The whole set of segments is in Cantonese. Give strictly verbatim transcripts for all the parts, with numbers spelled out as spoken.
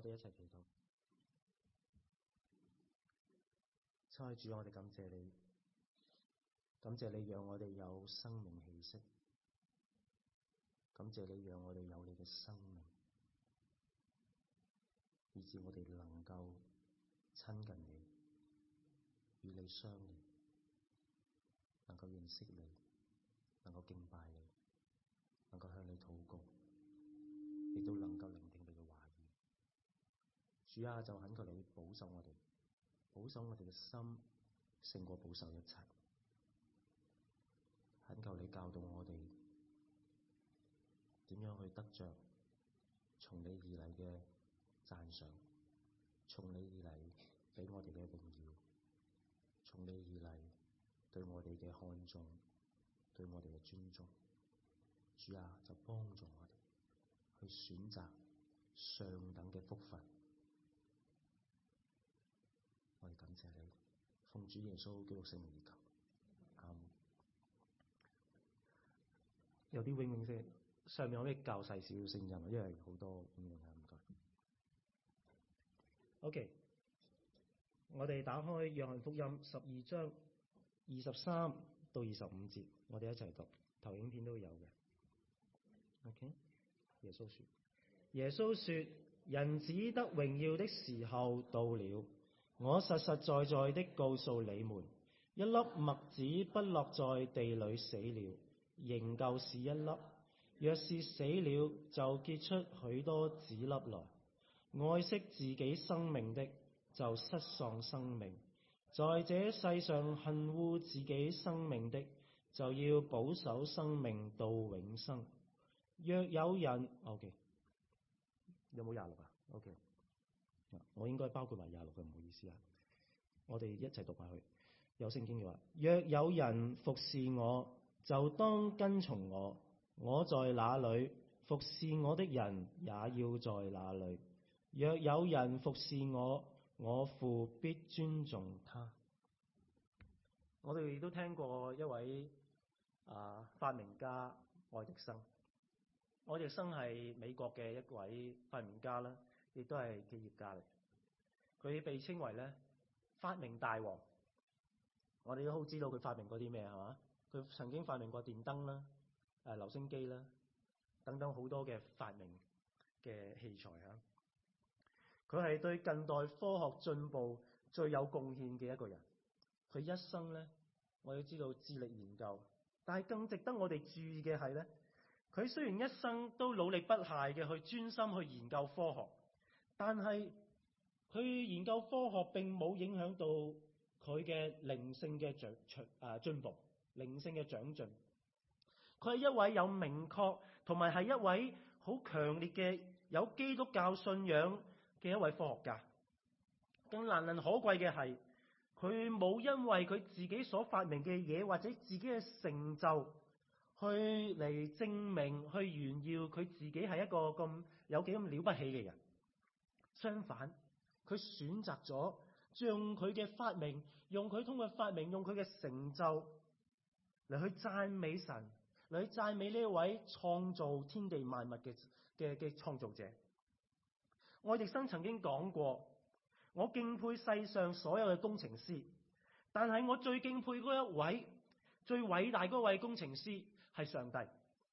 我哋一齊祈禱。親愛主，我哋感謝你，感謝你讓我哋有生命氣息，感謝你讓我哋有你嘅生命，以致我哋能夠親近你，與你相連，能夠認識你，能夠敬拜你，能夠向你禱告，亦都能夠聆聽你嘅話語。主啊，就懇求你保守我哋，保守我哋嘅心勝過保守一切。懇求你教導我哋點樣去得着從你而嚟嘅讚賞，從你而嚟俾我哋嘅榮耀，從你而嚟對我哋嘅看重，對我哋嘅尊重。主啊，就幫助我哋去選擇上等嘅福分。我哋感謝你，奉主耶穌基督聖名而求。阿們。有啲永永聲，上面可以較細少少聲音，因為好多永永啊，唔該。OK，我哋打開約翰福音十二章二十三到二十五節，我哋一齊讀，投影片都有嘅。OK， 耶穌說：耶穌說，人子得榮耀的時候到了。我實實在在的告訴你們，一粒麥子不落在地裏死了，仍舊是一粒；若是死了，就結出許多子粒來。愛惜自己生命的，就失喪生命；在這世上恨惡自己生命的，就要保守生命到永生。若有人 ，OK， 有冇廿六啊 ？OK。我應該包括埋廿六嘅，唔好意思啊。我哋一齊讀下去。有聖經嘅話：若有人服侍我，就當跟從我。我在哪裏，服侍我的人也要在哪裏。若有人服侍我，我父必尊重他。我哋都聽過一位啊發明家愛迪生。愛迪生係美國嘅一位發明家啦。亦都係企業家嚟，佢被稱為咧發明大王。我哋都好知道佢發明過啲咩係嘛？佢曾經發明過電燈啦、誒留聲機啦等等好多嘅發明嘅器材嚇。佢係對近代科學進步最有貢獻嘅一個人。佢一生咧，我哋知道致力研究，但係更值得我哋注意嘅係咧，佢雖然一生都努力不懈嘅去專心去研究科學。但係佢研究科學並冇影響到佢嘅靈性嘅長長啊進步，靈性嘅長進。佢係一位有明確同埋係一位好強烈嘅有基督教信仰嘅一位科學家。更難能可貴嘅係，佢冇因為佢自己所發明嘅嘢或者自己嘅成就去嚟證明去炫耀佢自己係一個咁有幾咁了不起嘅人。相反，佢選擇咗將佢嘅發明，用佢通過發明，用佢嘅成就嚟去讚美神，嚟去讚美呢一位創造天地萬物嘅嘅嘅創造者。愛迪生曾經講過：我敬佩世上所有嘅工程師，但係我最敬佩嗰一位最偉大嗰位工程師係上帝。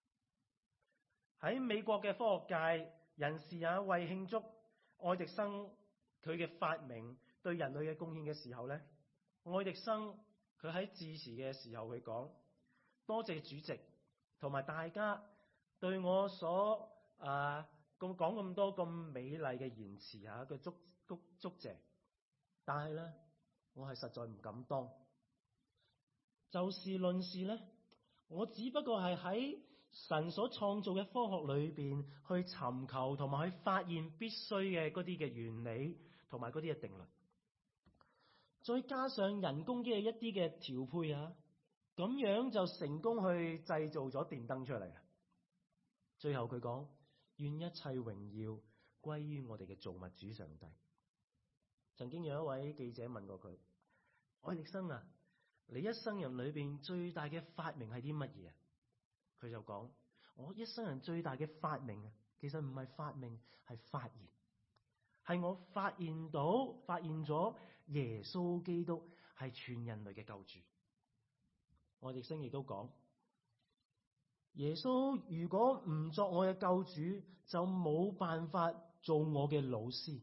喺美國嘅科學界人士也為慶祝愛迪生佢嘅發明對人類嘅貢獻嘅時候咧，愛迪生佢喺致辭嘅時候佢講：多謝主席同埋大家對我所啊咁講咁多咁美麗嘅言辭嚇嘅祝祝祝謝，但係咧我係實在唔敢當。就事論事咧，我只不過係喺神所創造嘅科學裏邊去尋求同埋去發現必須嘅嗰啲嘅原理同埋嗰啲嘅定律，再加上人工嘅一啲嘅調配啊，咁樣就成功去製造咗電燈出嚟啊！最後佢講：願一切榮耀歸於我哋嘅造物主上帝。曾經有一位記者問過佢：愛迪生啊，你一生人裏邊最大嘅發明係啲乜嘢啊？佢就講：我一生人最大嘅發明啊，其實唔係發明，係發言， 係我發現到、發現咗耶穌基督係全人類嘅救主。我哋聖經亦都講，耶穌如果唔作我嘅救主，就冇辦法做我嘅老師。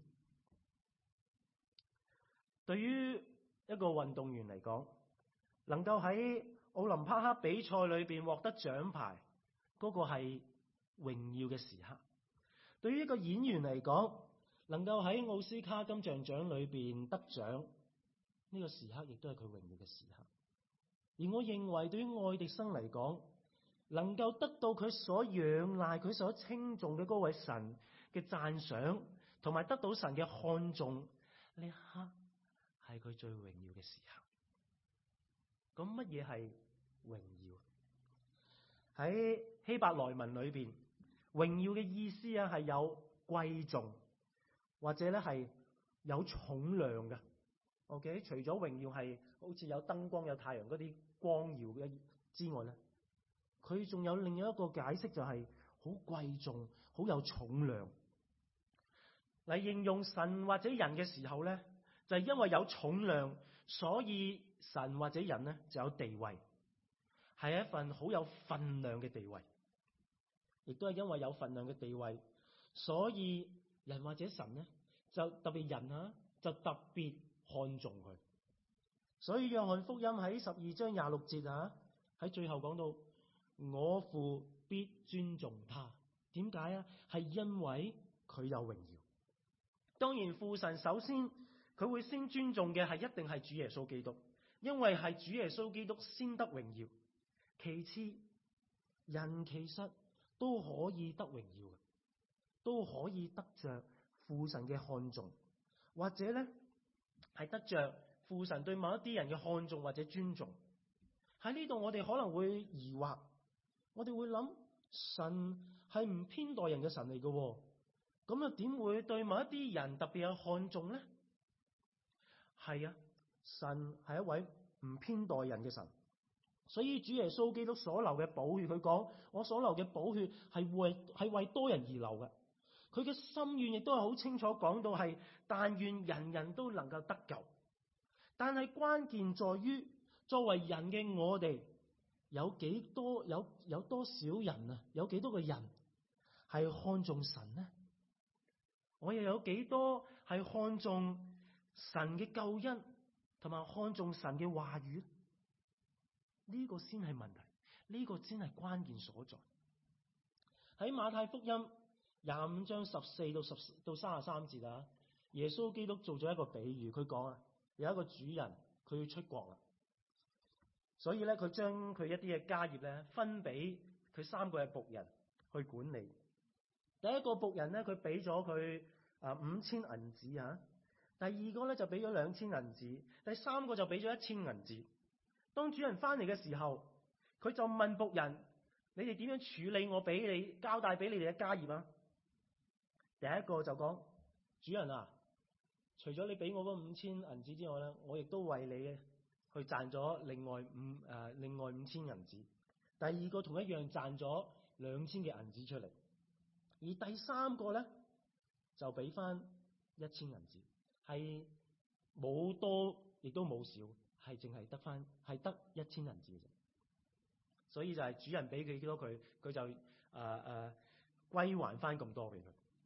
對於一個運動員嚟講，能夠喺奧林匹克比賽裏邊獲得獎牌，嗰個係榮耀嘅時刻。對於一個演員嚟講，能夠喺奧斯卡金像獎裏邊得獎，呢個時刻亦都係佢榮耀嘅時刻。而我認為對於愛迪生嚟講，能夠得到佢所仰賴、佢所稱頌嘅嗰位神嘅讚賞，同埋得到神嘅看重，呢一刻係佢最榮耀嘅時刻。咁乜嘢係榮耀？喺希伯來文裏邊，榮耀嘅意思啊係有貴重，或者咧係有重量嘅。OK， 除咗榮耀係好似有燈光、有太陽嗰啲光耀嘅之外咧，佢仲有另一個解釋，就係好貴重、好有重量。嚟形容神或者人嘅時候咧，就係因為有重量，所以神或者人咧就有地位，係一份好有分量嘅地位。亦都係因為有分量嘅地位，所以人或者神咧就特別人啊，就特別看重佢。所以約翰福音喺十二章廿六節啊，喺最後講到我父必尊重他。點解啊？係因為佢有榮耀。當然父神首先佢會先尊重嘅係一定係主耶穌基督，因為係主耶穌基督先得榮耀。其次，人其實都可以得榮耀，都可以得着父神嘅看重，或者咧係得着父神對某一啲人嘅看重或者尊重。喺呢度我哋可能會疑惑，我哋會諗，神係唔偏待人嘅神嚟嘅，咁又點會對某一啲人特別有看重咧？係啊，神係一位唔偏待人嘅神。所以主耶穌基督所流嘅寶血，佢講我所流嘅寶血係為係為多人而流嘅。佢嘅心願亦都係好清楚講到係，但願人人都能夠得救。但係關鍵在於，作為人嘅我哋有幾多有有多少人啊？有幾多個人係看重神呢？我又有幾多係看重神嘅救恩，同埋看重神嘅話語？呢個先係問題，呢個先係關鍵所在。喺馬太福音廿五章十四到十到三十三節啊，耶穌基督做咗一個比喻，佢講啊，有一個主人佢要出國啦，所以咧佢將佢一啲嘅家業咧分俾佢三個嘅僕人去管理。第一個僕人咧佢俾咗佢啊五千銀子啊，第二個咧就俾咗兩千銀子，第三個就俾咗一千銀子。當主人翻嚟嘅時候，佢就問僕人：你哋點樣處理我俾你交代俾你哋嘅家業啊？第一個就講：主人啊，除咗你俾我嗰五千銀子之外咧，我亦都為你去賺咗另外五誒、呃、另外五千銀子。第二個同一樣賺咗兩千嘅銀子出嚟，而第三個咧就俾翻一千銀子，係冇多亦都冇少。係淨係得翻，係得一千銀子嘅啫。所以就係主人俾佢幾多佢，佢就誒誒歸還翻咁多俾佢。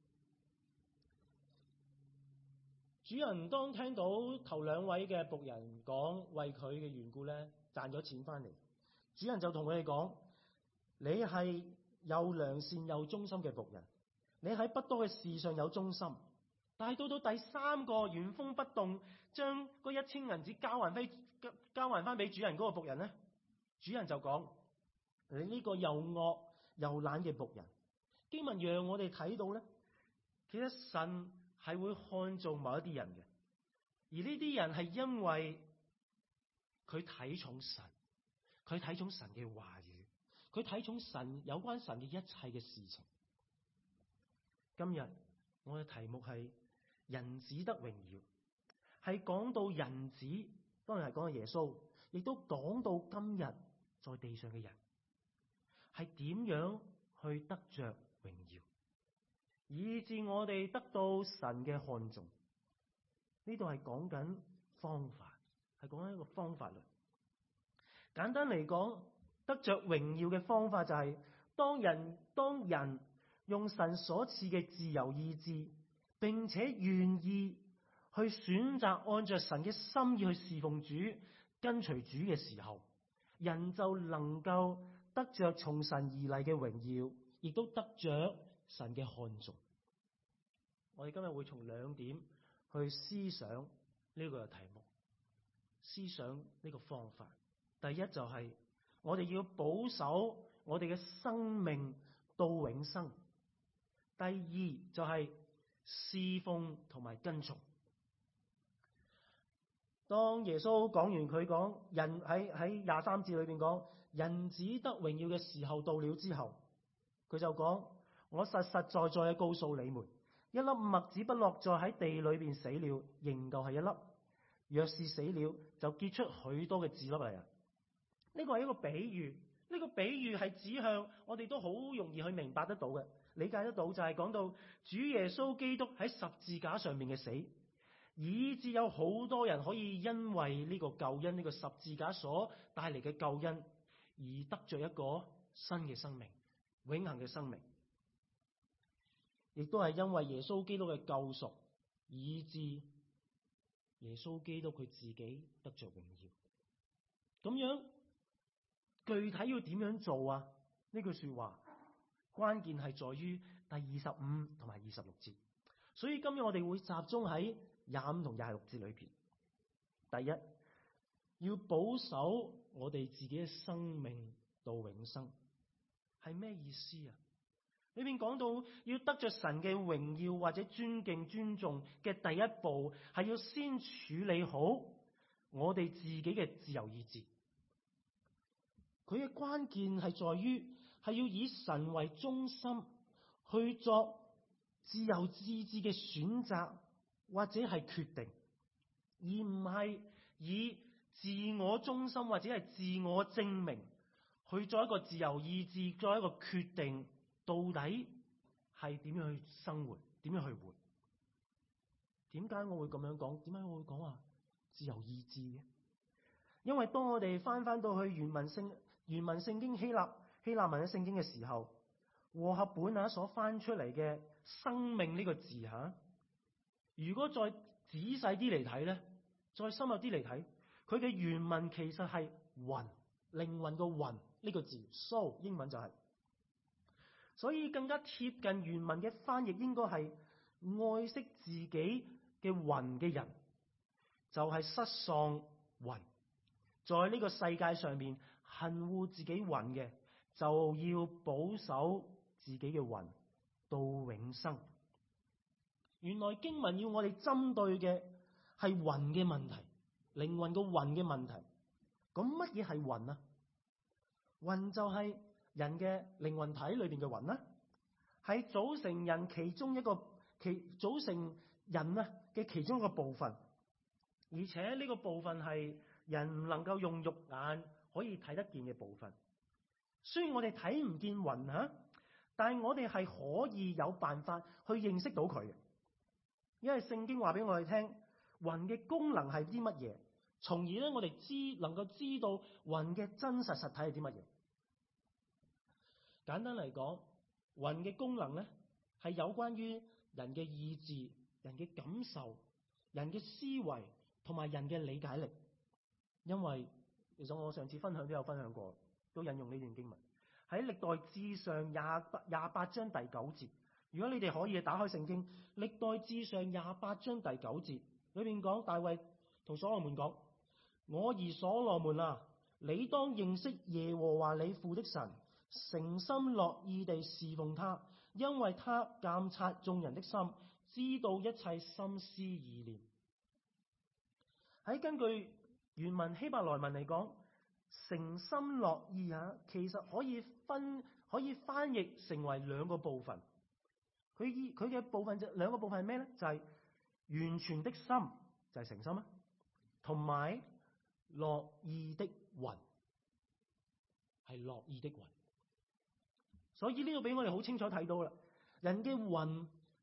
主人當聽到頭兩位嘅僕人講為佢嘅緣故咧賺咗錢翻嚟，主人就同佢哋講：你係又良善又忠心嘅僕人，你喺不多嘅事上有忠心，但係到到第三個原封不動將嗰一千銀子交還飛。交還翻俾主人嗰個僕人咧，主人就講：你呢個又惡又懶嘅僕人。經文讓我哋睇到咧，其實神係會看重某一啲人嘅，而呢啲人係因為佢睇重神，佢睇重神嘅話語，佢睇重神有關神嘅一切嘅事情。今日我嘅題目係人子得榮耀，係講到人子。當然係講到耶穌，亦都講到今日在地上嘅人係點樣去得着榮耀。 以致我哋得到神嘅看重。呢度係講緊方法，係講緊一個方法論。簡單嚟講，得着榮耀嘅方法就係、是、當人當人用神所賜嘅自由意志，並且願意去選擇按着神嘅心意去侍奉主、跟隨主嘅時候，人就能夠得着從神而嚟嘅榮耀，亦都得着神嘅看重。我哋今日會從兩點去思想呢個題目，思想呢個方法。第一就係、是、我哋要保守我哋嘅生命到永生。第二就係、是、侍奉同埋跟從。當耶穌講完佢講人喺喺廿三節裏邊講人子得榮耀嘅時候到了之後，佢就講：我實實在在嘅告訴你們，一粒麥子不落在喺地裏邊死了，仍舊係一粒；若是死了，就結出許多嘅子粒嚟啊！呢個係一個比喻，呢、這個比喻係指向我哋都好容易去明白得到嘅，理解得到就係講到主耶穌基督喺十字架上面嘅死，以致有好多人可以因為呢個救恩，呢、這個十字架所帶嚟嘅救恩，而得着一個新嘅生命，永恆嘅生命。亦都係因為耶穌基督嘅救贖，以致耶穌基督佢自己得着榮耀。咁樣具體要點樣做啊？呢句說話關鍵係在於第二十五同埋二十六節。所以今日我哋會集中喺廿五同廿六節裏邊。第一，要保守我哋自己嘅生命到永生，係咩意思啊？裏面講到要得着神嘅榮耀或者尊敬尊重嘅第一步，係要先處理好我哋自己嘅自由意志。佢嘅關鍵係在於係要以神為中心去作自由意志嘅選擇或者係決定，而唔係以自我中心或者係自我證明去做一個自由意志，作一個決定。到底係點樣去生活？點樣去活？點解我會咁樣講？點解我會講話自由意志嘅？因為當我哋翻翻到去原文聖原文聖經希臘希臘文嘅聖經嘅時候，和合本啊所翻出嚟嘅生命呢個字吓，如果再仔細啲嚟睇咧，再深入啲嚟睇，佢嘅原文其實係魂，靈魂個魂呢個字 soul 英文就係。所以更加貼近原文嘅翻譯應該係愛惜自己嘅魂嘅人，就係失喪魂，在呢個世界上面恨惡自己魂嘅，就要保守自己嘅魂到永生。原來經文要我哋針對嘅係魂嘅問題，靈魂個魂嘅問題。咁乜嘢係魂啊？魂就係人嘅靈魂體裏邊嘅魂啦，係組成人其中一個其組成人啊嘅其中一個部分，而且呢個部分係人唔能夠用肉眼可以睇得見嘅部分。雖然我哋睇唔見魂吓，但係我哋係可以有辦法去認識到佢嘅，因為聖經話俾我哋聽，魂嘅功能係啲乜嘢，從而咧我哋知能夠知道魂嘅真實實體係啲乜嘢。簡單嚟講，魂嘅功能咧係有關於人嘅意志、人嘅感受、人嘅思維同埋人嘅理解力。因為其實我上次分享都有分享過，都引用呢段經文喺歷代志上廿八廿八章第九節。如果你哋可以打開聖經，歷代志上廿八章第九節裏面講，大衛同所羅門講：我兒所羅門啊，你當認識耶和華你父的神，誠心樂意地侍奉他，因為他鑒察眾人的心，知道一切心思意念。喺根據原文希伯來文嚟講，誠心樂意啊，其實可以分可以翻譯成為兩個部分。佢以佢嘅部分就兩個部分係咩咧？就係、是、完全的心，就係、是、誠心啊，同埋樂意的魂，係樂意的魂。所以呢度俾我哋好清楚睇到啦，人嘅魂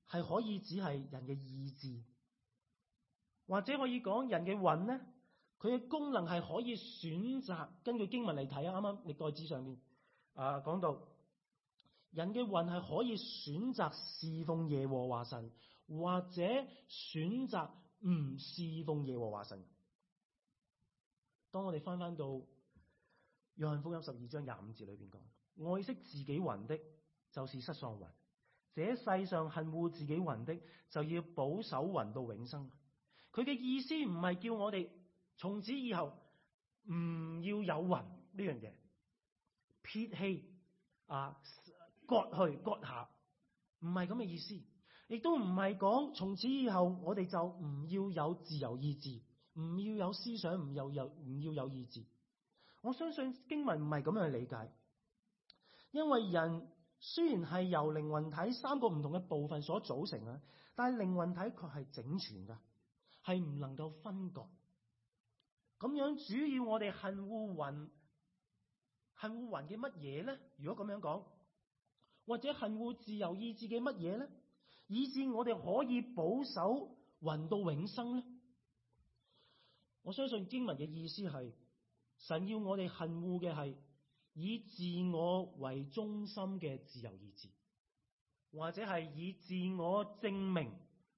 係可以只係人嘅意志，或者可以講人嘅魂咧，佢嘅功能係可以選擇。根據經文嚟睇啊，啱啱歷代志上面啊講到，人嘅魂係可以選擇侍奉耶和華神，或者選擇唔侍奉耶和華神。當我哋翻翻到約翰福音十二章廿五節裏邊講，愛惜自己魂的，就是失喪魂；這世上恨惡自己魂的，就要保守魂到永生。佢嘅意思唔係叫我哋從此以後唔要有魂呢樣嘢，撇棄啊，割去割下，唔係咁嘅意思。亦都唔係講從此以後我哋就唔要有自由意志，唔要有思想，唔要有唔要有意志。我相信經文唔係咁樣去理解，因為人雖然係由靈魂體三個唔同嘅部分所組成啊，但係靈魂體卻係整全噶，係唔能夠分割。咁樣主要我哋恨惡魂，恨惡魂嘅乜嘢咧？如果咁樣講，或者恨惡自由意志嘅乜嘢咧？以致我哋可以保守魂到永生咧？我相信經文嘅意思係，神要我哋恨惡嘅係以自我為中心嘅自由意志，或者係以自我證明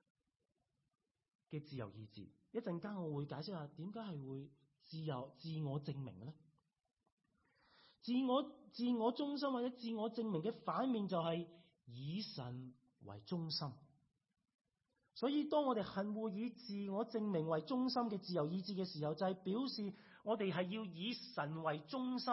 嘅自由意志。一陣間我會解釋下點解係會自由自我證明咧？自我自我中心或者自我證明嘅反面就係以神為中心。所以當我哋恨惡以自我證明為中心嘅自由意志嘅時候，就係表示我哋係要以神為中心，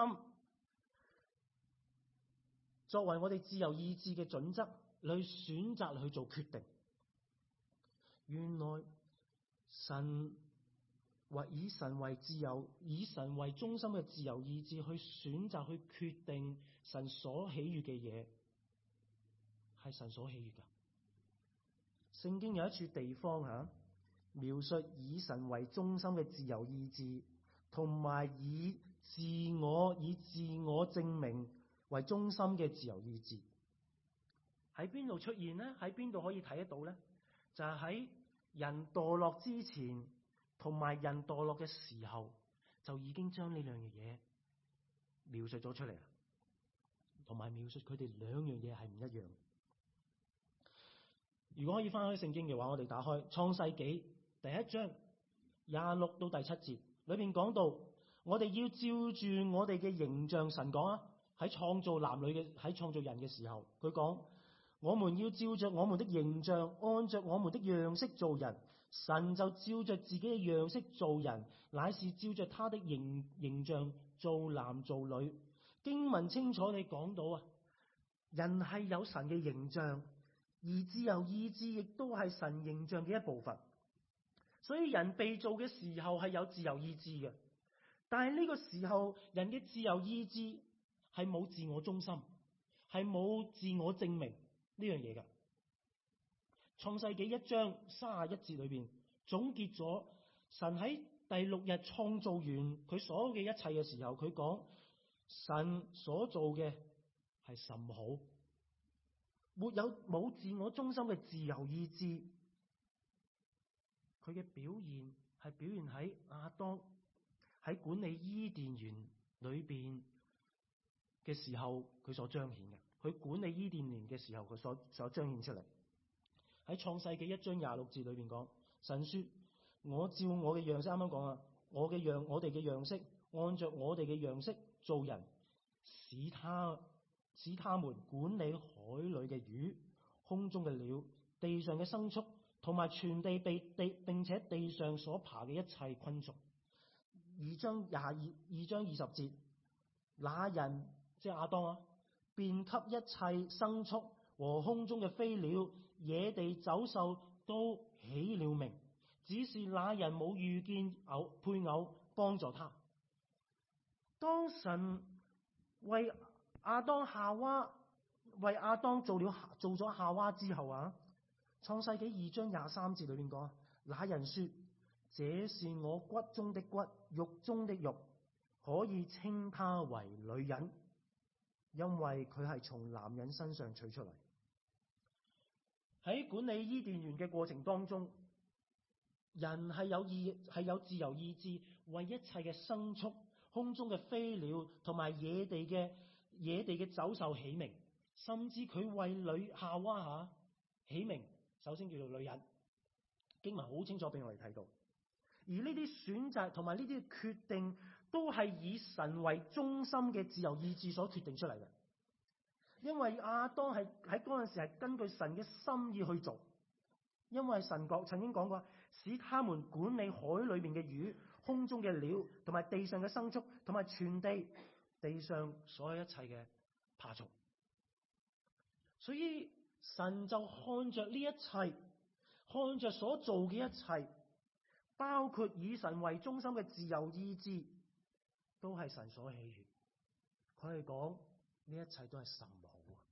作為我哋自由意志嘅準則，去選擇去做決定。原來神為以神為自由、以神為中心嘅自由意志去選擇去決定神所喜悅嘅嘢，係神所喜悅噶。聖經有一處地方吓、啊，描述以神為中心嘅自由意志，同埋以自我以自我證明為中心嘅自由意志。喺邊度出現呢？喺邊度可以睇得到呢？就係、是、喺人墮落之前，同埋人墮落嘅時候，就已經將呢兩樣嘢描述咗出嚟啦。同埋描述佢哋兩樣嘢係唔一樣。如果可以翻開聖經嘅話，我哋打開創世紀第一章廿六到第七節，裏邊講到我哋要照住我哋嘅形象，神講啊，喺創造男女嘅喺創造人嘅時候，佢講我們要照着我們的形象，按着我們的樣式做人。神就照着自己嘅樣式做人，乃是照着他的形形象做男做女。經文清楚地講到啊，人係有神嘅形象。而自由意志亦都係神形象嘅一部分，所以人被造嘅時候係有自由意志嘅。但係呢個時候，人嘅自由意志係冇自我中心，係冇自我證明呢樣嘢嘅。創世紀一章三十一節裏邊總結咗神喺第六日創造完佢所有嘅一切嘅時候，佢講神所做嘅係甚好。沒有冇自我中心嘅自由意志，佢嘅表現係表現喺亞當喺管理伊甸園裏邊嘅時候，佢所彰顯嘅。佢管理伊甸園嘅時候，佢所所彰顯出嚟。喺創世紀一章廿六節裏邊講，神說：我照我嘅樣式，啱啱講啊，我嘅樣，我哋嘅樣式，按着我哋嘅樣式做人，使他。使他們管理海裏嘅魚、空中嘅鳥、地上嘅牲畜，同埋全地被地並且地上所爬嘅一切昆蟲。二章廿二二章二十節，那人即係亞當啊，便給一切牲畜和空中嘅飛鳥、野地走獸都起了名，只是那人冇遇見偶配偶幫助他。當神為亞當夏娃為亞當做了做咗夏娃之後啊，創世紀二章廿三節裏面講，那人說：這是我骨中的骨，肉中的肉，可以稱他為女人，因為佢係從男人身上取出嚟。 喺管理伊甸園嘅過程當中，人係有意係有自由意志，為一切嘅牲畜、空中嘅飛鳥同埋野地嘅野地嘅走獸起名，甚至佢為女夏娃下起名，首先叫做女人。經文好清楚俾我哋睇到，而呢啲選擇同埋呢啲決定，都係以神為中心嘅自由意志所決定出嚟嘅。因為亞當係喺嗰陣時係根據神嘅心意去做，因為神講曾經講過，使他們管理海裏面嘅魚、空中嘅鳥，同埋地上嘅牲畜，同埋全地地上所有一切嘅爬蟲。所以神就看着呢一切，看着所做嘅一切，包括以神為中心嘅自由意志，都係神所喜悅。佢係講呢一切都係神好。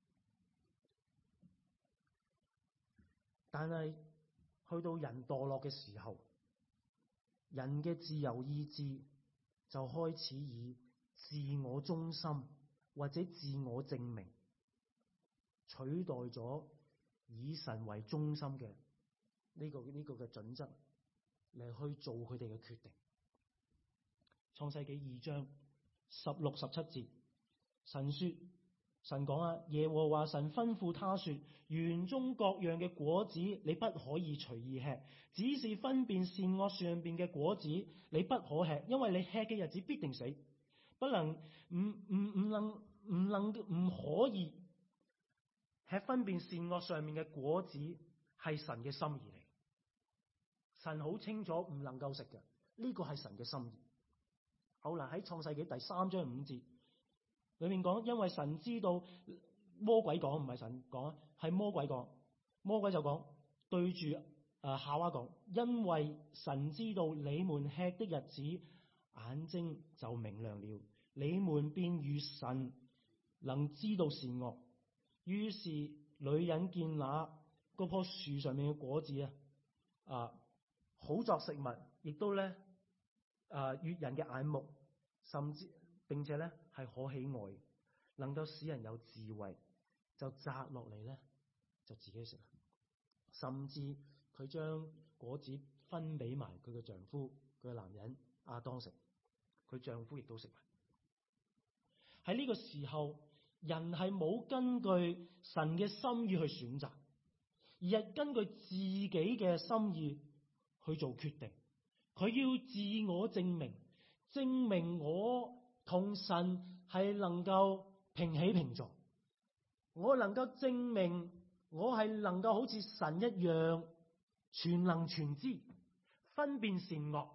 但係去到人墮落嘅時候，人嘅自由意志就開始以自我中心或者自我證明取代咗以神為中心嘅呢個呢個嘅準則嚟去做佢哋嘅決定。創世紀二章十六十七節，神說，神講啊，耶和華神吩咐他說，園中各樣嘅果子你不可以隨意吃，只是分辨善惡上邊嘅果子你不可吃，因為你吃嘅日子必定死，不能唔唔唔能唔能唔可以吃分辨善惡上面嘅果子，係神嘅心意嚟。神好清楚唔能夠食嘅，呢個係神嘅心意。好啦，喺創世紀第三章五節裏面講，因為神知道，魔鬼講，唔係神講，係魔鬼講。魔鬼就講，對住誒夏娃講，因為神知道你們吃的日子，眼睛就明亮了，你們便如神，能知道善惡。於是女人見那嗰棵樹上面嘅果子啊，啊好作食物，亦都咧啊悅人嘅眼目，甚至並且咧係可喜愛，能夠使人有智慧，就摘落嚟咧就自己食。甚至佢將果子分俾埋佢嘅丈夫，佢嘅男人亞當食，佢丈夫亦都食埋。喺呢個時候，人係冇根據神嘅心意去選擇，而係根據自己嘅心意去做決定。佢要自我證明，證明我同神係能夠平起平坐，我能夠證明我係能夠好似神一樣全能全知，分辨善惡。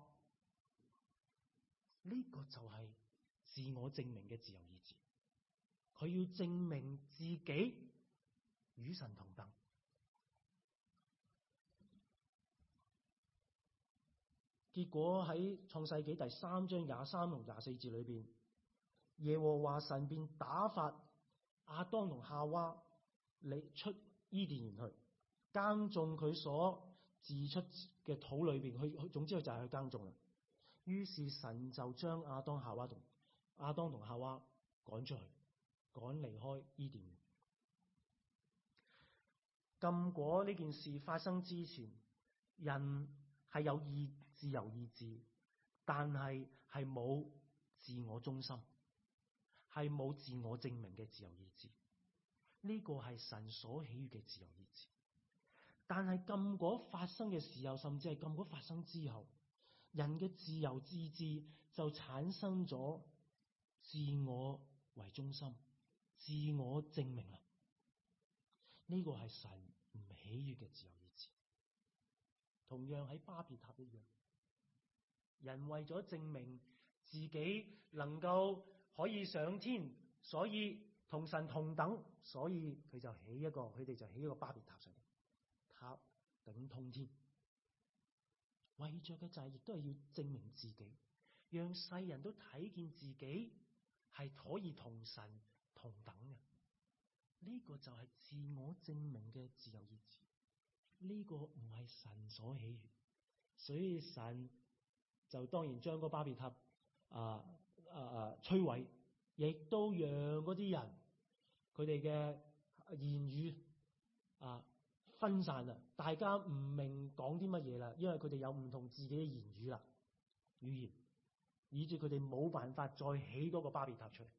呢個就係自我證明嘅自由意志。佢要證明自己與神同等。結果喺創世紀第三章廿三同廿四節裏邊，耶和華神便打發亞當同夏娃嚟出伊甸園去耕種佢所自出嘅土裏邊，去總之佢就係去耕種啦。於是神就將亞當夏娃同亞當同夏娃趕出去，趕離開伊甸園。禁果呢件事發生之前，人係有意自由意志，但係係冇自我中心，係冇自我證明嘅自由意志。呢個係神所喜悅嘅自由意志。但係禁果發生嘅時候，甚至係禁果發生之後，人嘅自由意志就產生咗自我為中心、自我證明啦。呢個係神唔喜悅嘅自由意志。同樣喺巴別塔一樣，人為咗證明自己能夠可以上天，所以同神同等，所以佢就起一個，佢哋就起一個巴別塔上，塔頂通天。為着嘅就係亦都係要證明自己，讓世人都睇見自己係可以同神同等嘅。呢個就係自我證明嘅自由意志。呢個唔係神所喜悅，所以神就當然將個巴別塔啊啊啊摧毀，亦都讓嗰啲人佢哋嘅言語啊分散啦，大家唔明講啲乜嘢啦，因為佢哋有唔同自己嘅言語啦，語言，以致佢哋冇辦法再起多個巴別塔出嚟。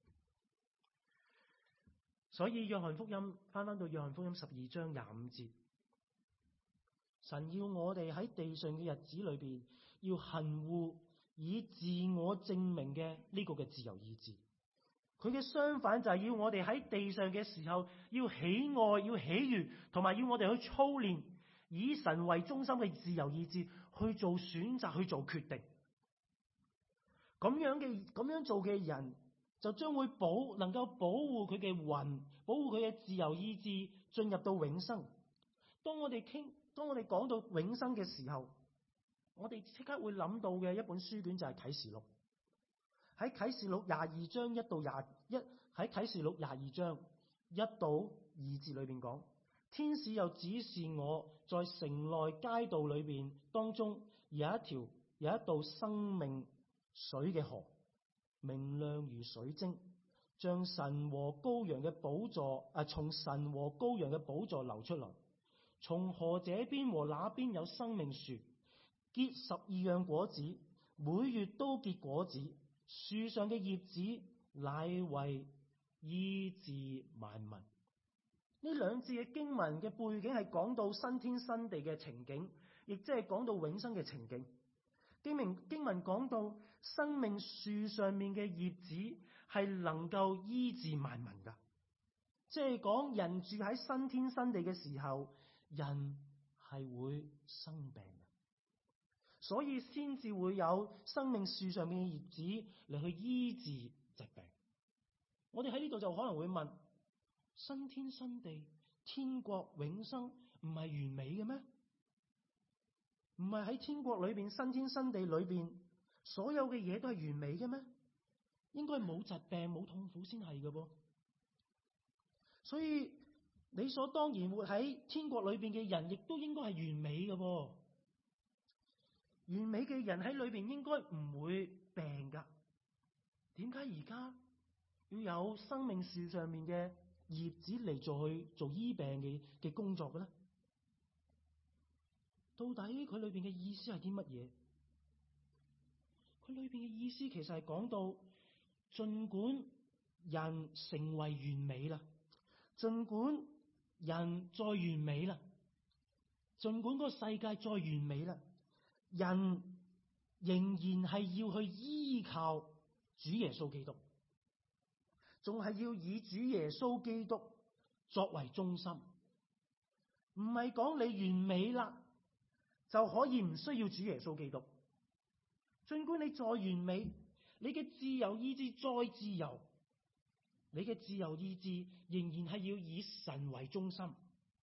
所以約翰福音翻翻到約翰福音十二章廿五節，神要我哋喺地上嘅日子裏邊，要恨惡以自我證明嘅呢個嘅自由意志。佢嘅相反就係要我哋喺地上嘅時候，要喜愛、要喜悅，同埋要我哋去操練以神為中心嘅自由意志去做選擇、去做決定。咁樣嘅咁樣做嘅人，就將會保能夠保護佢嘅魂，保護佢嘅自由意志進入到永生。當我哋傾，當我哋講到永生嘅時候，我哋即刻會諗到嘅一本書卷就係啟示錄。喺啟示錄廿二章一到廿一，喺啟示錄廿二章一到二節裏邊講，天使又指示我在城內街道裏邊當中有一條有一道生命水嘅河，明亮如水晶，像神和羔羊嘅寶座，啊，從神和羔羊嘅寶座流出來。從河這邊和那邊有生命樹，結十二樣果子，每月都結果子。樹上嘅葉子乃為醫治萬民。呢兩節嘅經文嘅背景係講到新天新地嘅情景，亦即係講到永生嘅情景。經文經文講到生命樹上面嘅葉子係能夠醫治萬民噶，即係講人住喺新天新地嘅時候，人係會生病。所以先至會有生命樹上面嘅葉子嚟去醫治疾病。我哋喺呢度就可能會問：新天新地、天國永生唔係完美嘅咩？唔係喺天國裏邊、新天新地裏邊，所有嘅嘢都係完美嘅咩？應該冇疾病、冇痛苦先係嘅噃。所以理所當然活喺天國裏邊嘅人，亦都應該係完美嘅噃。完美嘅人喺裏邊應該唔會病噶，點解而家要有生命樹上面嘅葉子嚟做去做醫病嘅嘅工作嘅咧？到底佢裏邊嘅意思係啲乜嘢？佢裏邊嘅意思其實係講到，儘管人成為完美啦，儘管人再完美啦，儘管個世界再完美啦，人仍然係要去依靠主耶穌基督，仲係要以主耶穌基督作為中心。唔係講你完美啦就可以唔需要主耶穌基督。儘管你再完美，你嘅自由意志再自由，你嘅自由意志仍然係要以神為中心。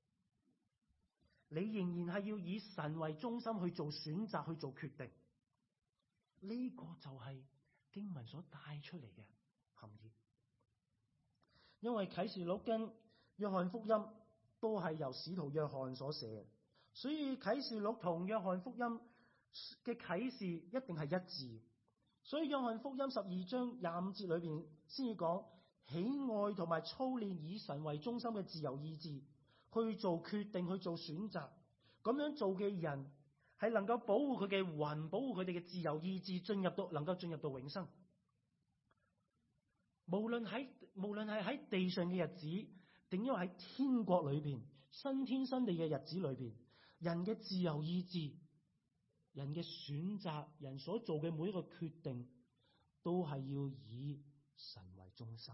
你仍然係要以神為中心去做選擇、去做決定。呢個就係經文所帶出嚟嘅含義。因為啟示錄跟約翰福音都係由使徒約翰所寫嘅，所以啟示錄同約翰福音嘅啟示一定係一致。所以約翰福音十二章廿五節裏邊先至講喜愛同埋操練以神為中心嘅自由意志，去做決定、去做選擇。咁樣做嘅人係能夠保護佢嘅魂，保護佢哋嘅自由意志，進入到能夠進入到永生。無論喺無論係喺地上嘅日子，定因為喺天國裏邊新天新地嘅日子裏邊，人嘅自由意志、人嘅選擇、人所做嘅每一個決定，都係要以神為中心。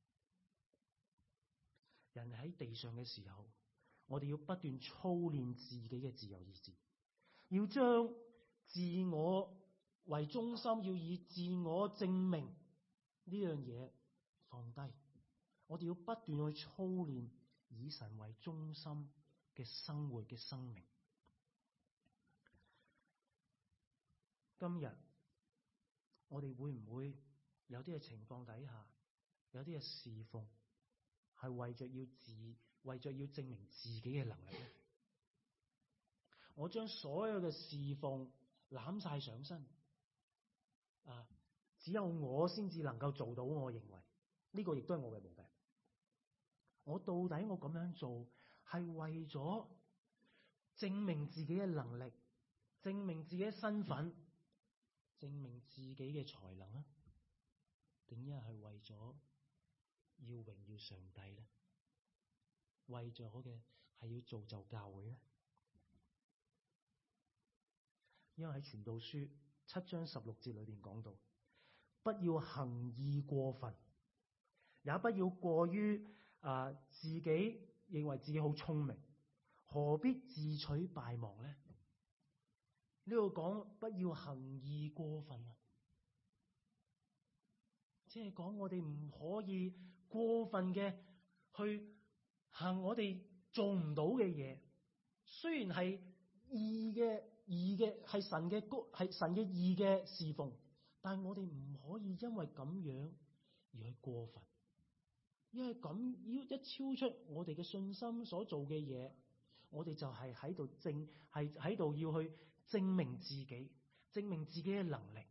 人喺地上嘅時候，我哋要不斷操練自己嘅自由意志，要將自我為中心，要以自我證明呢樣嘢放低。我哋要不斷去操練以神為中心嘅生活嘅生命。今日我哋會唔會有啲嘅情況底下，有啲嘅侍奉係為着要自為着要證明自己嘅能力咧？我將所有嘅侍奉攬晒上身，啊，只有我先至能夠做到。我認為呢個亦都係我嘅毛病。我到底我咁樣做係為咗證明自己嘅能力，證明自己嘅身份，證明自己嘅才能啊？定一係為咗要榮耀上帝咧？為咗嘅係要造就教會咧？因為喺傳道書七章十六節裏邊講到，不要行義過分，也不要過於啊、呃、自己認為自己好聰明，何必自取敗亡呢？呢度講不要行義過分啊，即係講我哋唔可以過分嘅去行我哋做唔到嘅嘢，雖然係義嘅。義嘅係神嘅高，係神嘅義嘅侍奉，但係我哋唔可以因為咁樣而去過分，因為咁要一超出我哋嘅信心所做嘅嘢，我哋就係喺度證，係喺度要去證明自己，證明自己嘅能力。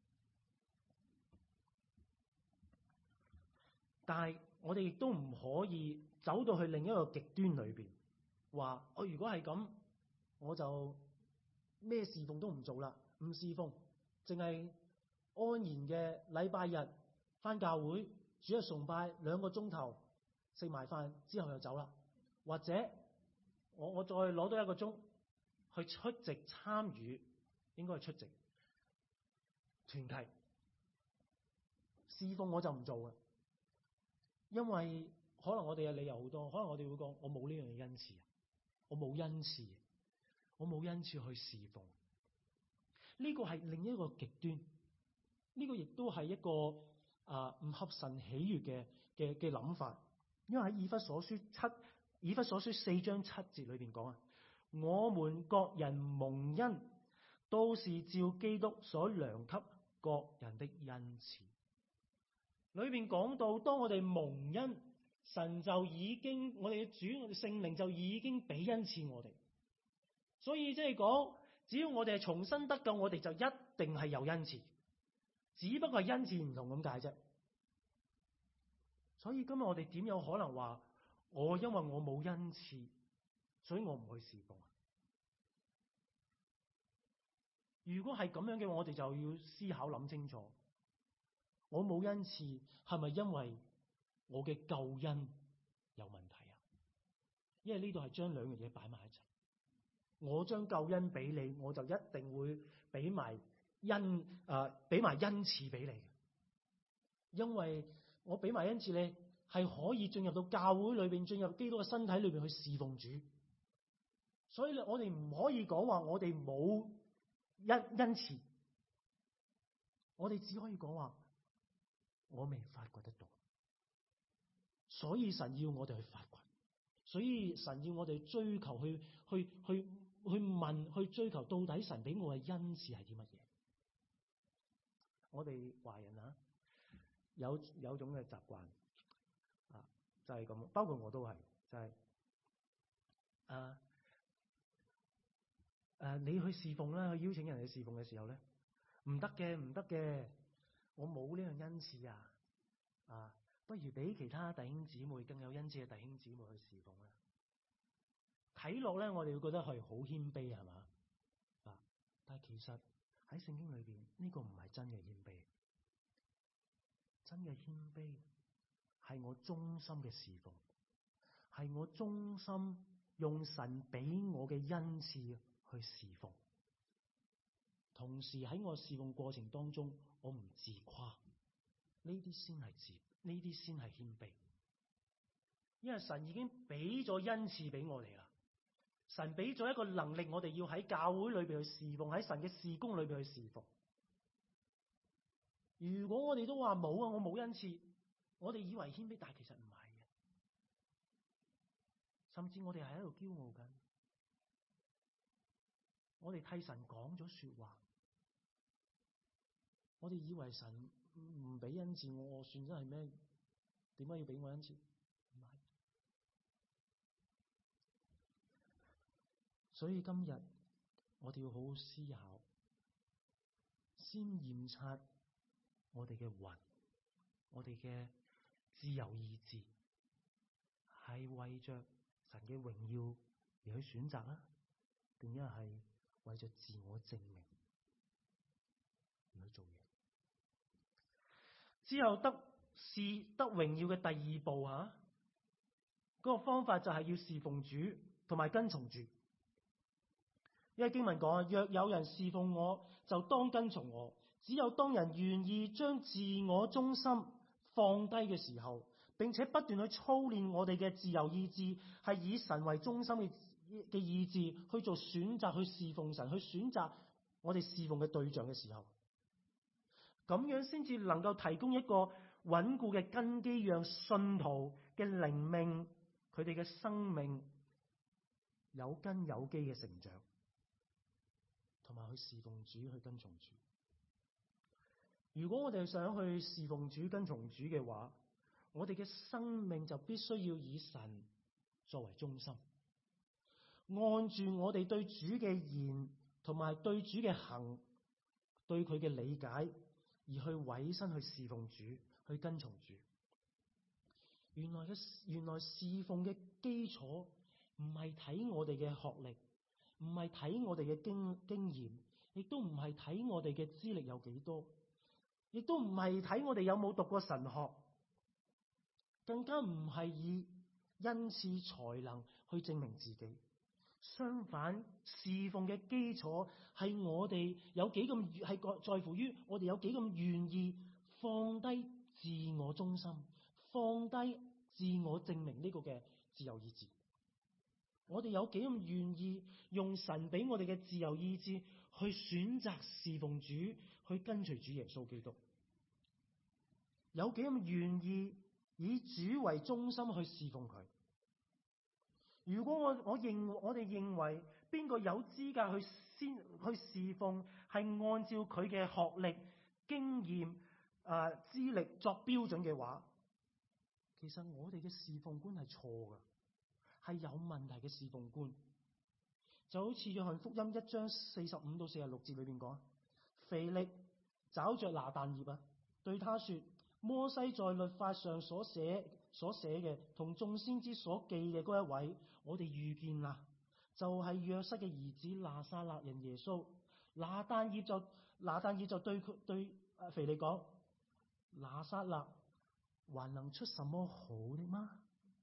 但係我哋亦都唔可以走到去另一個極端裏邊，話我如果係咁，我就咩侍奉都唔做啦，唔侍奉，淨係安然嘅禮拜日返教會，主日崇拜兩個鐘頭，食埋飯之後就走啦。或者我我再攞多一個鐘去出席參與，應該係出席團契侍奉，我就唔做嘅，因為可能我哋嘅理由好多，可能我哋會講我冇呢樣嘢恩賜，我冇恩賜。我冇恩賜去侍奉，呢個係另一個極端，呢個亦都係一個啊唔合神喜悅嘅嘅嘅諗法。因為喺以弗所書七以弗所書四章七節裏邊講啊，我們各人蒙恩，都是照基督所量給各人的恩賜。裏邊講到，當我哋蒙恩，神就已經我哋嘅主，我哋聖靈就已經俾恩賜我哋。所以即係講，只要我哋係重生得救，我哋就一定係有恩賜，只不過係恩賜唔同咁解啫。所以今日我哋點有可能話我因為我冇恩賜，所以我唔去侍奉？如果係咁樣嘅話，我哋就要思考諗清楚，我冇恩賜係咪因為我嘅救恩有問題啊？因為呢度係將兩樣嘢擺埋一齊。我將救恩俾你，我就一定會俾埋恩啊，俾埋恩賜俾你。因為我俾埋恩賜你，係可以進入到教會裏邊，進入基督嘅身體裏邊去侍奉主。所以我哋唔可以講話我哋冇恩恩賜，我哋只可以講話我未發掘得到。所以神要我哋去發掘，所以神要我哋追求去去去。去問去追求到底神俾我嘅恩賜係啲乜嘢？我哋華人啊，有有種嘅習慣啊，就係咁，包括我都係，就係啊誒，你去侍奉啦，去邀請人去侍奉嘅時候咧，唔得嘅，唔得嘅，我冇呢樣恩賜啊，啊，不如俾其他弟兄姊妹更有恩賜嘅弟兄姊妹去侍奉啦。睇落咧，我哋會覺得係好謙卑，係嘛？啊！但係其實喺聖經裏邊，呢個唔係真嘅謙卑。真嘅謙卑係我忠心嘅侍奉，係我忠心用神俾我嘅恩賜去侍奉。同時喺我侍奉過程當中，我唔自誇，呢啲先係自，呢啲先係謙卑。因為神已經俾咗恩賜俾我哋啦。神俾咗一個能力，我哋要喺教會裏邊去侍奉，喺神嘅事工裏邊去侍奉。如果我哋都話冇啊，我冇恩賜，我哋以為謙卑，但係其實唔係嘅，甚至我哋係喺度驕傲緊。我哋替神講咗說話，我哋以為神唔俾恩賜我，我算真係咩？點解要俾我恩賜？所以今日我哋要好好思考，先驗察我哋嘅魂，我哋嘅自由意志係為着神嘅榮耀而去選擇啦， 定一係為咗自我證明而去做嘢。之後得是得榮耀嘅第二步吓，嗰個方法就係要侍奉主同埋跟從主。因為經文講，若有人侍奉我，就當跟從我。只有當人願意將自我中心放低嘅時候，並且不斷去操練我哋嘅自由意志，係以神為中心嘅嘅意志去做選擇，去侍奉神，去選擇我哋侍奉嘅對象嘅時候，咁樣先至能夠提供一個穩固嘅根基，讓信徒嘅靈命，佢哋嘅生命有根有基嘅成長，同埋去侍奉主，去跟從主。如果我哋想去侍奉主、跟從主嘅話，我哋嘅生命就必須要以神作為中心，按住我哋對主嘅言同埋對主嘅行，對佢嘅理解而去委身去侍奉主、去跟從主。原來嘅原來侍奉嘅基礎唔係睇我哋嘅學歷，唔係睇我哋嘅經經驗，亦都唔係睇我哋嘅資歷有幾多，亦都唔係睇我哋有冇讀過神學，更加唔係以恩賜才能去證明自己。相反，侍奉嘅基礎係我哋有幾咁係在乎於我哋有幾咁願意放低自我中心，放低自我證明呢個嘅自由意志。我哋有幾咁願意用神俾我哋嘅自由意志去選擇侍奉主，去跟隨主耶穌基督。有幾咁願意以主為中心去侍奉佢。如果我我認我哋認為邊個有資格去先去侍奉，係按照佢嘅學歷、經驗、誒、呃、資歷作標準嘅話，其實我哋嘅侍奉觀係錯㗎，係有問題嘅侍奉觀。就好似約翰福音一章四十五到四十六節裏邊講，腓力找着拿但業啊，對他說：摩西在律法上所寫所寫嘅，同眾先知所記嘅嗰一位，我哋遇見啦，就係、是、約瑟嘅兒子拿撒勒人耶穌。拿但業就拿但業就對佢對腓力講：拿撒勒還能出什麼好的嗎？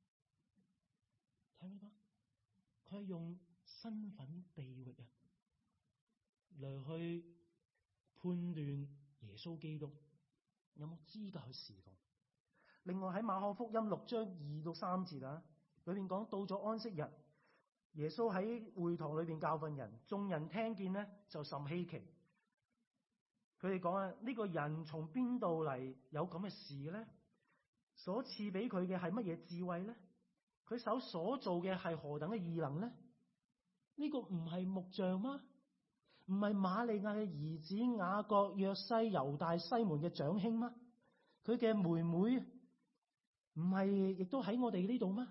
睇唔睇到？佢係用身份地域啊嚟去判斷耶穌基督有冇資格去侍奉。另外喺馬可福音六章二到三節啊，裏邊講到咗安息日，耶穌喺會堂裏邊教訓人，眾人聽見呢就甚稀奇。佢哋講啊，呢、這個人從邊度嚟有咁嘅事嘅咧？所賜俾佢嘅係乜嘢智慧咧？佢手所做嘅係何等嘅異能咧？呢、這個唔係木匠嗎？唔係瑪利亞嘅兒子雅各、約西、猶大、西門嘅長兄嗎？佢嘅妹妹唔係亦都喺我哋呢度嗎？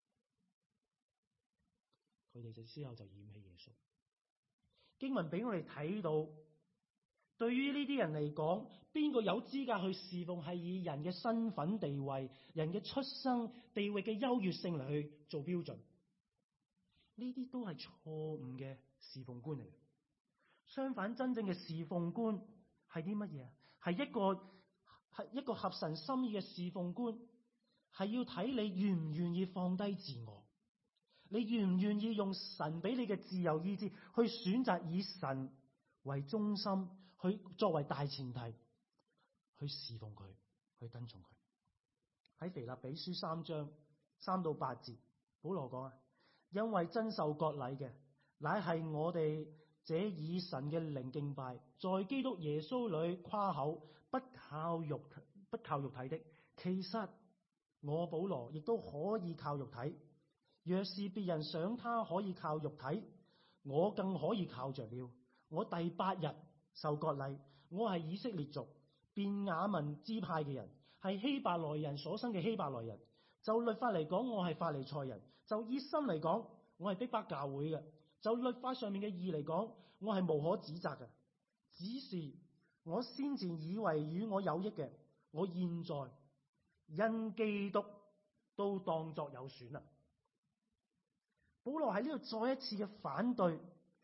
佢哋就之後就嫌棄耶穌。經文俾我哋睇到，對於呢啲人嚟講，邊個有資格去侍奉，係以人嘅身份地位、人嘅出生地域嘅優越性嚟去做標準。呢啲都係錯誤嘅侍奉觀嚟。相反，真正嘅侍奉觀係啲乜嘢啊？係一個係一個合神心意嘅侍奉觀，係要睇你願唔願意放低自我，你願唔願意用神俾你嘅自由意志去選擇以神為中心，去作為大前提去侍奉佢，去跟從佢。喺腓立比書三章三到八節，保羅講啊，因為真受割禮嘅，乃係我哋這以神嘅靈敬拜，在基督耶穌裏誇口，不靠肉不靠肉體的。其實我保羅亦都可以靠肉體。若是別人想他可以靠肉體，我更可以靠着了。我第八日受割禮，我係以色列族便雅憫支派嘅人，係希伯來人所生嘅希伯來人。就律法嚟講，我係法利賽人；就熱心嚟講，我係逼迫教會嘅；就律法上面嘅義嚟講，我係無可指責嘅。只是我先前以為與我有益嘅，我現在因基督都當作有損啦。保羅喺呢度再一次嘅反對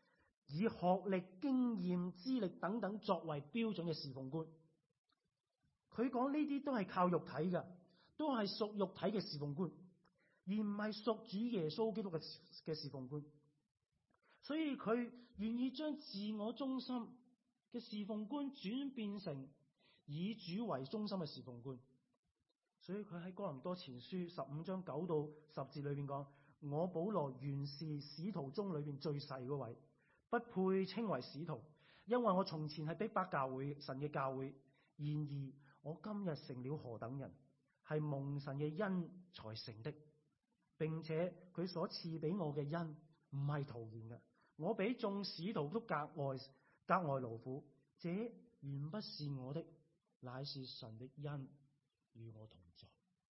以學歷、經驗、資歷等等作為標準嘅侍奉觀。佢講呢啲都係靠肉體嘅，都係屬肉體嘅侍奉觀，而唔係屬主耶穌基督嘅嘅侍奉觀。所以佢願意將自我中心嘅侍奉觀轉變成以主為中心嘅侍奉觀。所以佢喺哥林多前書十五章九到十節裏邊講：我保羅原是使徒中裏邊最細嗰位，不配稱為使徒，因為我從前係逼迫教會神嘅教會。然而我今日成了何等人，係蒙神嘅恩才成的，並且佢所賜俾我嘅恩唔係徒然嘅。我比眾使徒都格外格外勞苦，這原不是我的，乃是神的恩與我同在。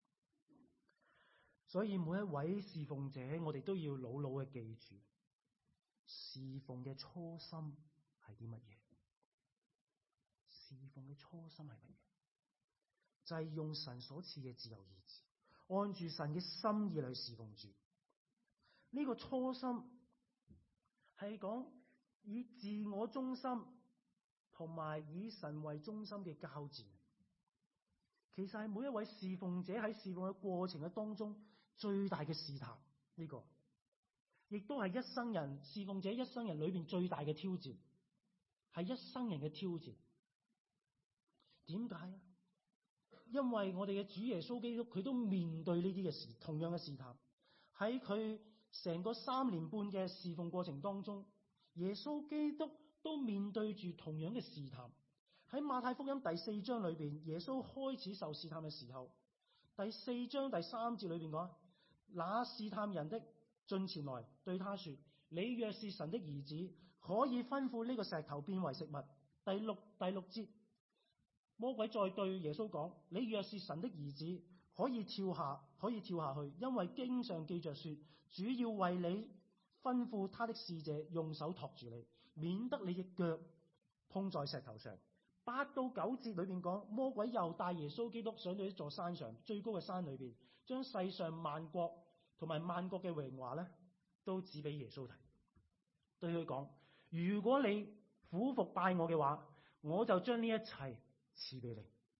所以每一位侍奉者，我哋都要牢牢嘅記住，侍奉嘅初心係啲乜嘢？侍奉嘅初心係乜嘢？就係用神所賜嘅自由意志，按住神嘅心意嚟侍奉主。呢個初心係講以自我中心同埋以神為中心嘅交戰。其實係每一位侍奉者喺侍奉嘅過程嘅當中最大嘅試探，呢個亦都係一生人侍奉者一生人裏邊最大嘅挑戰，係一生人嘅挑戰。點解啊？因為我哋嘅主耶穌基督佢都面對呢啲嘅事，同樣嘅試探。喺佢成個三年半嘅侍奉過程當中，耶穌基督都面對住同樣嘅試探。喺馬太福音第四章裏邊，耶穌開始受試探嘅時候，第四章第三節裏邊講：那試探人的進前來對他說：你若是神的兒子，可以吩咐呢個石頭變為食物。第六第六節，魔鬼再對耶穌講：你若是神的兒子，可以跳下可以跳下去，因為經上記着說，主要為你吩咐他的使者用手托住你，免得你嘅腳碰在石頭上。八到九節裏邊講，魔鬼又帶耶穌基督上到一座山上，最高嘅山裏邊，將世上萬國同埋萬國嘅榮華咧，都指俾耶穌睇，對佢講：如果你俯伏拜我嘅話，我就將呢一切賜俾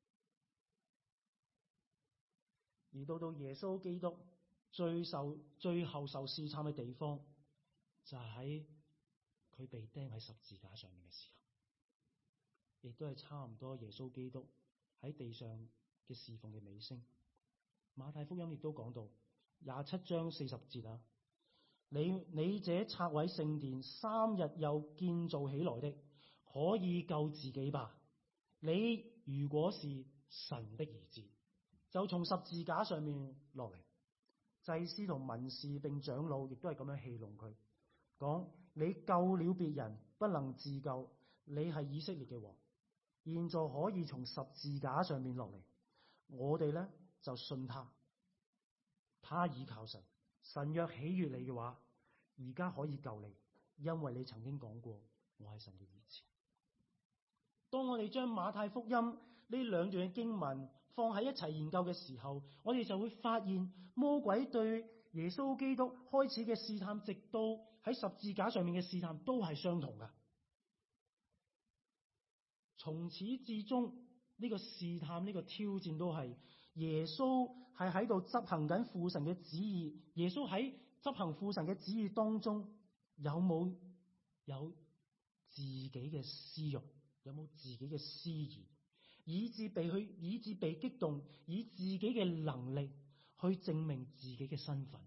你。而到到耶穌基督最受最後受試探嘅地方，就係喺佢被釘喺十字架上面嘅時候。亦都係差唔多耶穌基督喺地上嘅侍奉嘅尾聲。馬太福音亦都講到廿七章四十節啊，你你這拆毀聖殿三日又建造起來的，可以救自己吧。你如果是神的兒子，就從十字架上面落嚟。祭司同文士並長老亦都係咁樣戲弄佢，講：你救了別人，不能自救，你係以色列嘅王，現在可以從十字架上面落嚟，我哋咧就信他，他倚靠神，神若喜悅你嘅話，而家可以救你，因為你曾經講過我係神嘅兒子。當我哋將馬太福音呢兩段嘅經文放喺一齊研究嘅時候，我哋就會發現魔鬼對耶穌基督開始嘅試探，直到喺十字架上面嘅試探都係相同噶。從始至終呢個試探，呢個挑戰都係耶穌係喺度執行緊父神嘅旨意。耶穌喺執行父神嘅旨意當中，有冇有自己嘅私欲，有冇自己嘅私意，以致被去以致被激動，以自己嘅能力去證明自己嘅身份。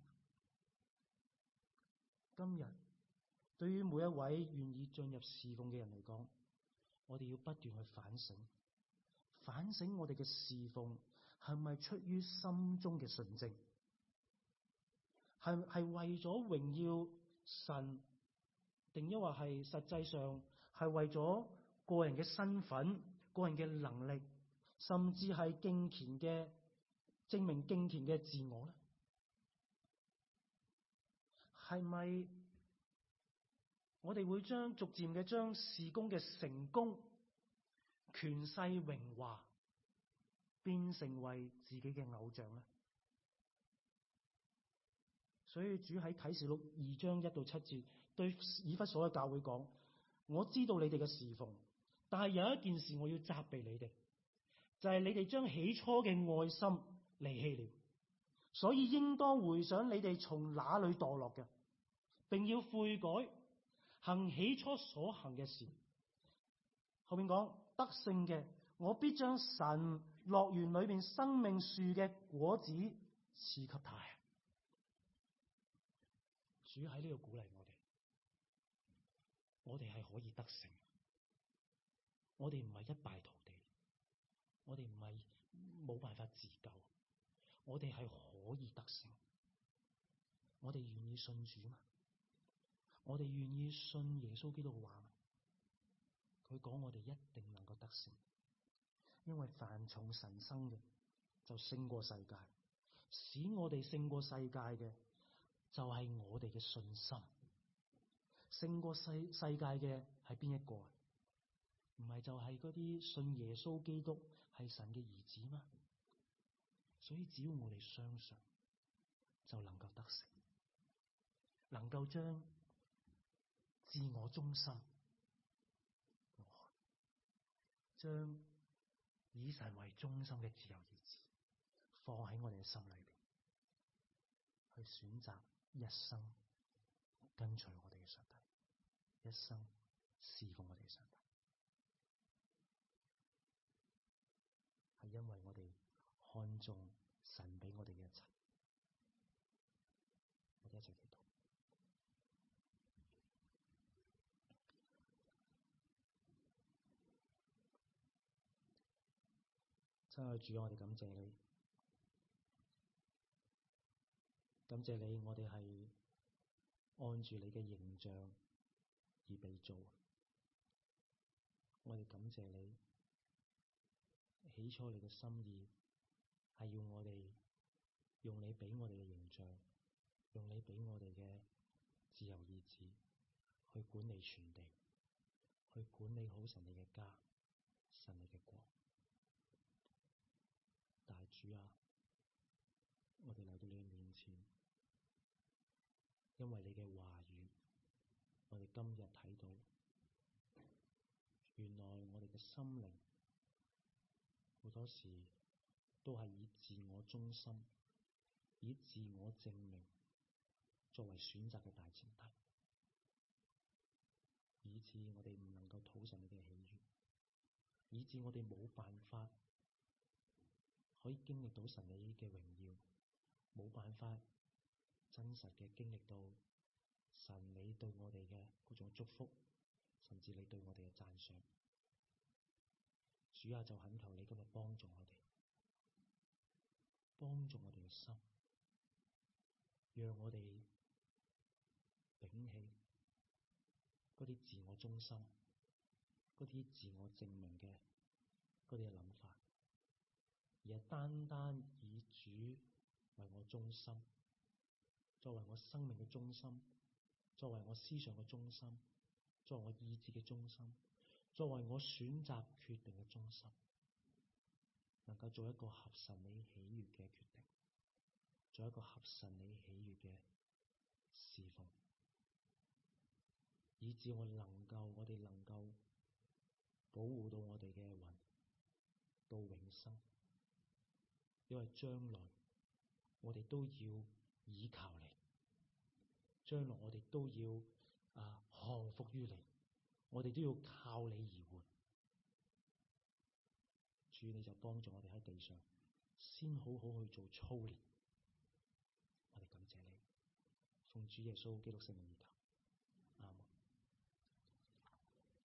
今日對於每一位願意進入侍奉嘅人嚟講，我哋要不斷去反省，反省我哋嘅侍奉係咪出於心中嘅純正，係係為咗榮耀神，定抑或係實際上係為咗個人嘅身份、個人嘅能力，甚至係敬虔嘅證明敬虔嘅自我咧？係咪我哋會將逐漸嘅將事工嘅成功、權勢、榮華變成為自己嘅偶像咧？所以主喺啟示錄二章一到七節對以弗所嘅教會講：我知道你哋嘅侍奉，但係有一件事我要責備你哋，就係、是、你哋將起初嘅愛心離棄了，所以應當回想你哋從哪裏墮落嘅，並要悔改，行起初所行嘅事。後面講得勝嘅，我必將神樂園裏邊生命樹嘅果子賜給他。主喺呢度鼓勵我哋，我哋係可以得勝，我哋唔係一敗塗地，我哋唔係冇辦法自救，我哋係可以得勝。我哋願意信主嗎？我哋願意信耶穌基督嘅話嗎？佢講我哋一定能夠得勝，因為凡從神生嘅就勝過世界，使我哋勝過世界嘅就係我哋嘅信心。勝過世世界嘅係邊一個啊？唔係就係嗰啲信耶穌基督係神嘅兒子嗎？所以只要我哋相信，就能夠得勝，能夠將自我中心，將以神為中心嘅自由意志放喺我哋嘅心裏邊，去選擇一生跟隨我哋嘅上帝，一生侍奉我哋嘅上帝，係因為我哋看重神俾我哋嘅一切。我哋一齊祈禱。親愛主，我哋感謝你，感謝你，我哋係按住你嘅形象而被造。我哋感謝你，起初你嘅心意係要我哋用你俾我哋嘅形象，用你俾我哋嘅自由意志去管理全地，去管理好神你嘅家，神你嘅國。但係主啊，我哋嚟到你面前，因為你嘅話語，我哋今日睇到，原來我哋嘅心靈好多時都係以自我中心、以自我證明作為選擇嘅大前提，以致我哋唔能夠討神你嘅喜悅，以致我哋冇辦法可以經歷到神你嘅榮耀，冇辦法真實嘅經歷到神你對我哋嘅嗰種祝福，甚至你對我哋嘅讚賞。主啊，就懇求你今日幫助我哋，幫助我哋嘅心，讓我哋摒棄嗰啲自我中心、嗰啲自我證明嘅嗰啲嘅諗法，而係單單以主為我中心，作為我生命嘅中心，作為我思想嘅中心，作為我意志嘅中心，作為我選擇決定嘅中心，能夠做一個合神你喜悅嘅決定，做一個合神你喜悅嘅侍奉，以致我能夠，我哋能夠保護到我哋嘅魂到永生。因為將來我哋都要倚靠你，將來我哋都要啊降服於你，我哋都要靠你而活。主，你就幫助我哋喺地上先好好去做操練。我哋感謝你，奉主耶穌基督聖名而求。